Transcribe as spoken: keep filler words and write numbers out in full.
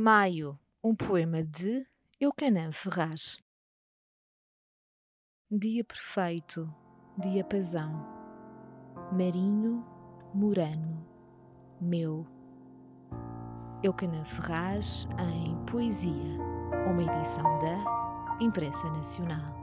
Maio, um poema de Eucanã Ferraz. Dia perfeito, dia pazão, marinho, morano, meu. Eucanã Ferraz em Poesia, uma edição da Imprensa Nacional.